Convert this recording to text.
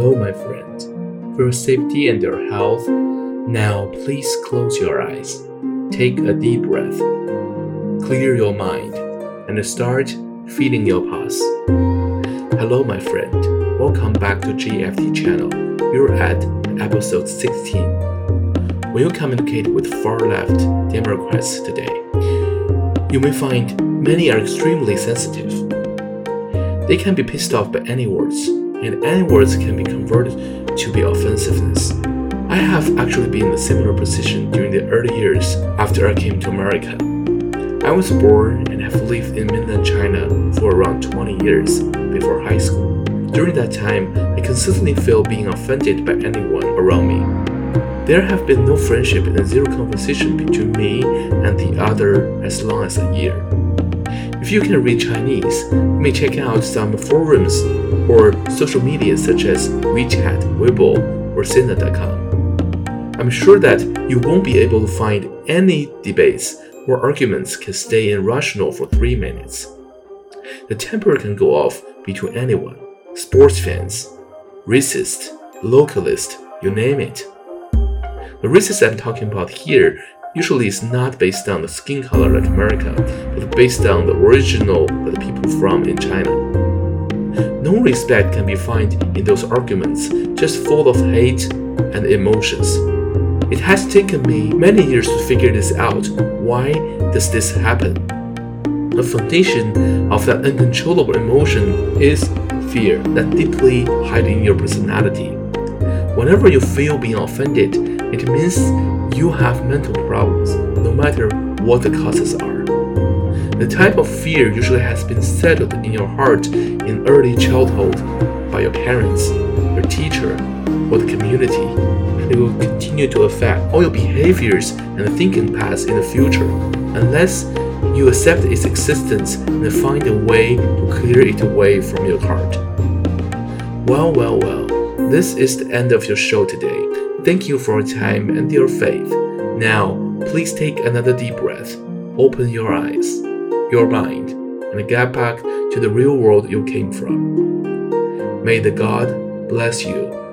Hello, my friend. For your safety and your health, now please close your eyes. Take a deep breath. Clear your mind and start feeling your pulse. Hello, my friend. Welcome back to GFT channel. You're at episode 16. When you communicate with far-left Democrats today, you may find many are extremely sensitive. They can be pissed off by any words, and any words can be converted to be offensiveness. I have actually been in a similar position during the early years after I came to America. I was born and have lived in mainland China for around 20 years before high school. During that time, I consistently felt being offended by anyone around me. There have been no friendship and zero conversation between me and the other as long as a year. If you can read Chinese, you may check out some forums or social media such as WeChat, Weibo, or Sina.com. I'm sure that you won't be able to find any debates where arguments can stay irrational for 3 minutes. The temper can go off between anyone, sports fans, racist, localist, you name it. The racist I'm talking about here usually is not based on the skin color like America, but based on the original that the people from in China. No respect can be found in those arguments, just full of hate and emotions. It has taken me many years to figure this out. Why does this happen? The foundation of that uncontrollable emotion is fear that deeply hides in your personality. Whenever you feel being offended, it means you have mental problems, no matter what the causes are. The type of fear usually has been settled in your heart in early childhood by your parents, your teacher, or the community. It will continue to affect all your behaviors and thinking paths in the future, unless you accept its existence and find a way to clear it away from your heart. Well, this is the end of your show today. Thank you for your time and your faith. Now, please take another deep breath, open your eyes, your mind, and get back to the real world you came from. May the God bless you.